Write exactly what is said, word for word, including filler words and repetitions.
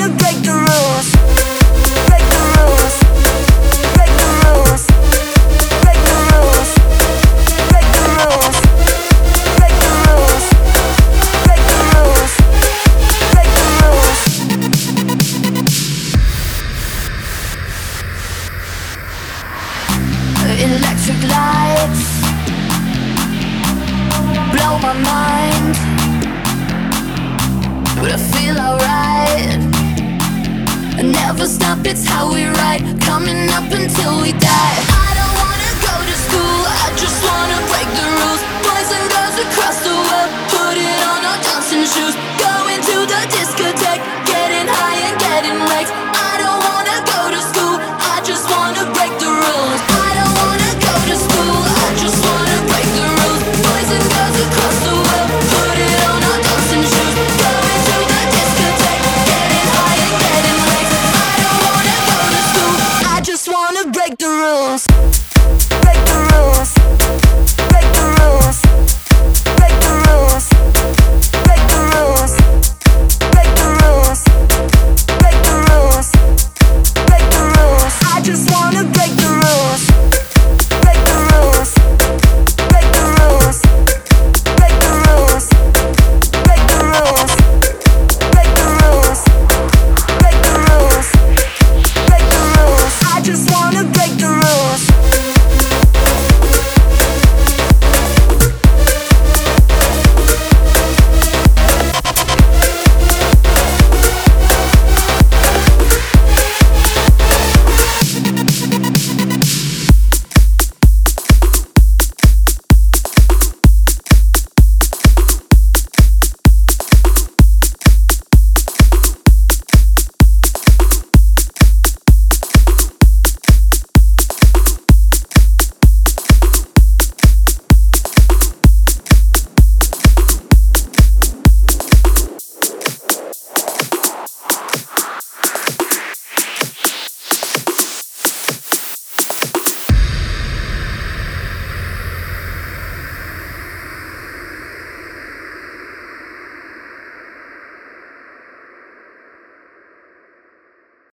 break the rules. Break the rules. Break the rules. Break the rules. Break the rules. Break the rules. Break the rules. Break the rules. Electric lights blow my mind, but I feel alright. I never stop, it's how we ride, coming up until we die. I don't wanna go to school, I just wanna break the rules. Boys and girls across the